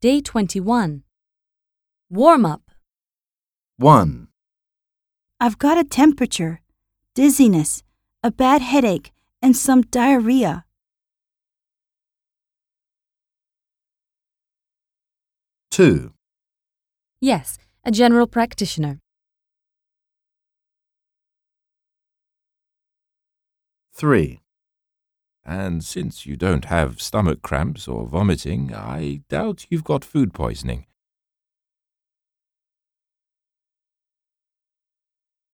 Day 21. Warm up. 1, I've got a temperature, dizziness, a bad headache, and some diarrhea. 2, Yes, a general practitioner. 3, And since you don't have stomach cramps or vomiting, I doubt you've got food poisoning.